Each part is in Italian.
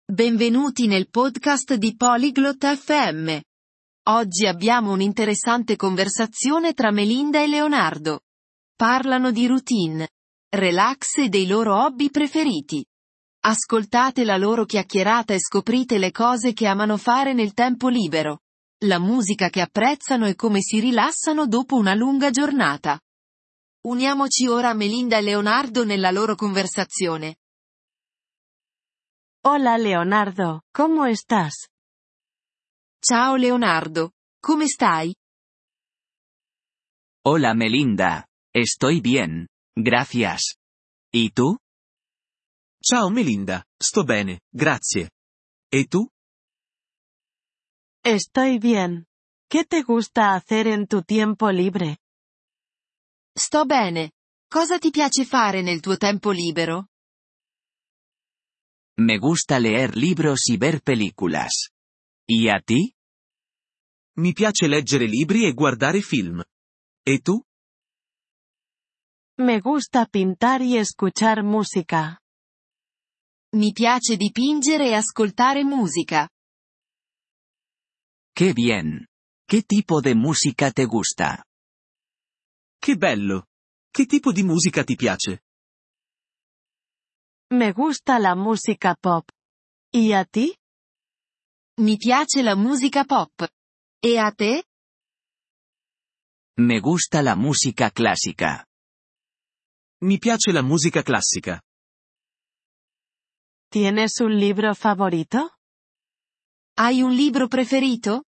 Benvenuti nel podcast di Polyglot FM. Oggi abbiamo un'interessante conversazione tra Melinda e Leonardo. Parlano di routine, relax e dei loro hobby preferiti. Ascoltate la loro chiacchierata e scoprite le cose che amano fare nel tempo libero, la musica che apprezzano e come si rilassano dopo una lunga giornata. Uniamoci ora a Melinda e Leonardo nella loro conversazione. Hola Leonardo, ¿cómo estás? Ciao Leonardo, come stai? Hola Melinda, estoy bien, gracias. ¿Y tú? Ciao Melinda, sto bene, grazie. E tu? Estoy bien. ¿Qué te gusta hacer en tu tiempo libre? Sto bene. Cosa ti piace fare nel tuo tempo libero? Me gusta leer libros y ver películas. ¿Y a ti? Mi piace leggere libri e guardare film. E tu? Me gusta pintar y escuchar música. Mi piace dipingere e ascoltare musica. ¡Qué bien! ¿Qué tipo de música te gusta? Che bello! Che tipo di musica ti piace? Me gusta la música pop. ¿Y a ti? Mi piace la musica pop. E a te? Me gusta la música clásica. Mi piace la musica classica. ¿Tienes un libro favorito? Hai un libro preferito?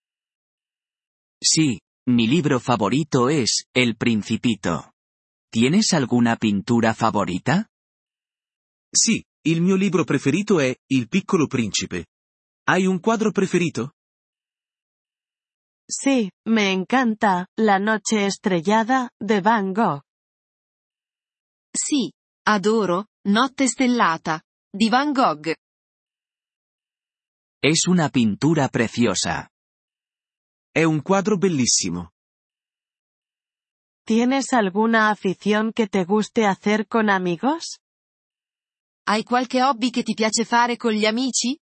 Sí, mi libro favorito es El Principito. ¿Tienes alguna pintura favorita? Sì, il mio libro preferito è Il Piccolo Principe. Hai un quadro preferito? Sí, me encanta La Noche Estrellada, de Van Gogh. Sì, adoro Notte stellata, di Van Gogh. Es una pintura preciosa. È un quadro bellissimo. ¿Tienes alguna afición que te guste hacer con amigos? Hai qualche hobby che ti piace fare con gli amici?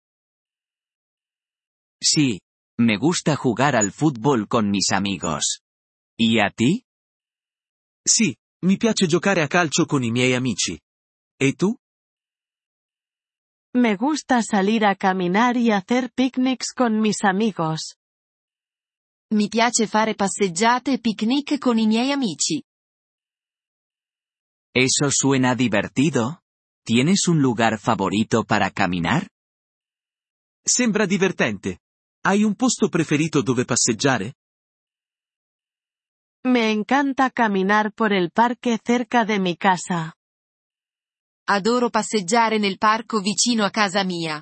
Sí, me gusta jugar al fútbol con mis amigos. ¿Y a ti? Sì, mi piace giocare a calcio con i miei amici. E tu? Me gusta salir a caminar y hacer picnics con mis amigos. Mi piace fare passeggiate e picnic con i miei amici. Eso suena divertido. ¿Tienes un lugar favorito para caminar? Sembra divertente. Hai un posto preferito dove passeggiare? Me encanta caminar por el parque cerca de mi casa. Adoro passeggiare nel parco vicino a casa mia.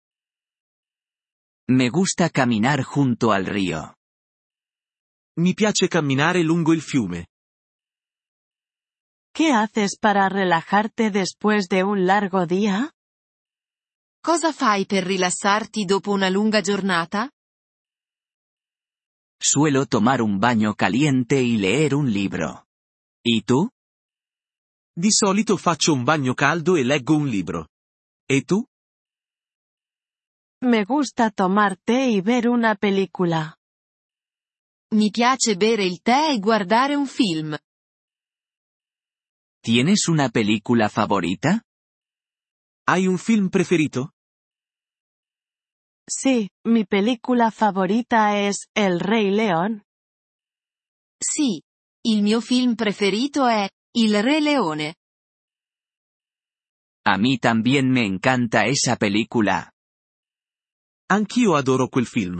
Me gusta caminar junto al río. Mi piace camminare lungo il fiume. ¿Qué haces para relajarte después de un largo día? Cosa fai per rilassarti dopo una lunga giornata? Suelo tomar un baño caliente y leer un libro. ¿Y tú? Di solito faccio un bagno caldo e leggo un libro. E tu? Me gusta tomar té y ver una película. Mi piace bere il tè e guardare un film. ¿Tienes una película favorita? Hai un film preferito? Sí, mi película favorita es El Rey León. Sì. Il mio film preferito è Il Re Leone. A mí también me encanta esa película. Anch'io adoro quel film.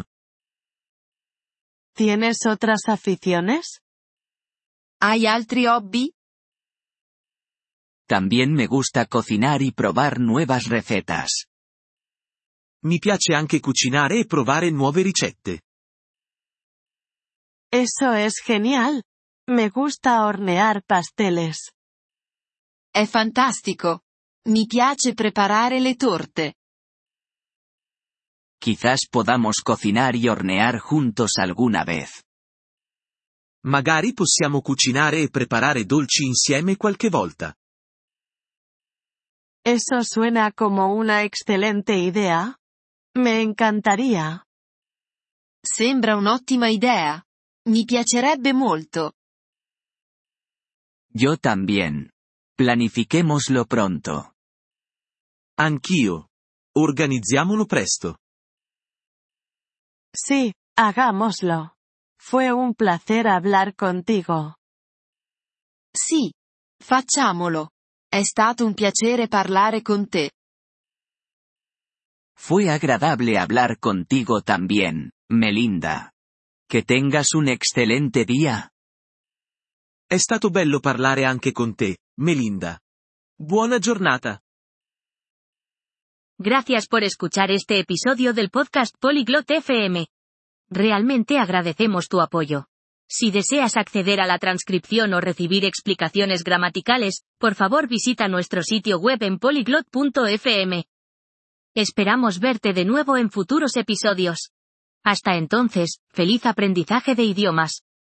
¿Tienes otras aficiones? Hai altri hobby? También me gusta cocinar y probar nuevas recetas. Mi piace anche cucinare e provare nuove ricette. Eso es genial. Me gusta hornear pasteles. È fantastico. Mi piace preparare le torte. Quizás podamos cocinar y hornear juntos alguna vez. Magari possiamo cucinare e preparare dolci insieme qualche volta. Eso suena como una excelente idea. Me encantaría. Sembra un'ottima idea. Mi piacerebbe molto. Yo también. Planifiquémoslo pronto. Anch'io. Organizziamolo presto. Sí, hagámoslo. Fue un placer hablar contigo. Sì. Facciamolo. È stato un piacere parlare con te. Fue agradable hablar contigo también, Melinda. Que tengas un excelente día. È stato bello parlare anche con te, Melinda. Buona giornata. Gracias por escuchar este episodio del podcast Polyglot FM. Realmente agradecemos tu apoyo. Si deseas acceder a la transcripción o recibir explicaciones gramaticales, por favor visita nuestro sitio web en polyglot.fm. Esperamos verte de nuevo en futuros episodios. Hasta entonces, feliz aprendizaje de idiomas.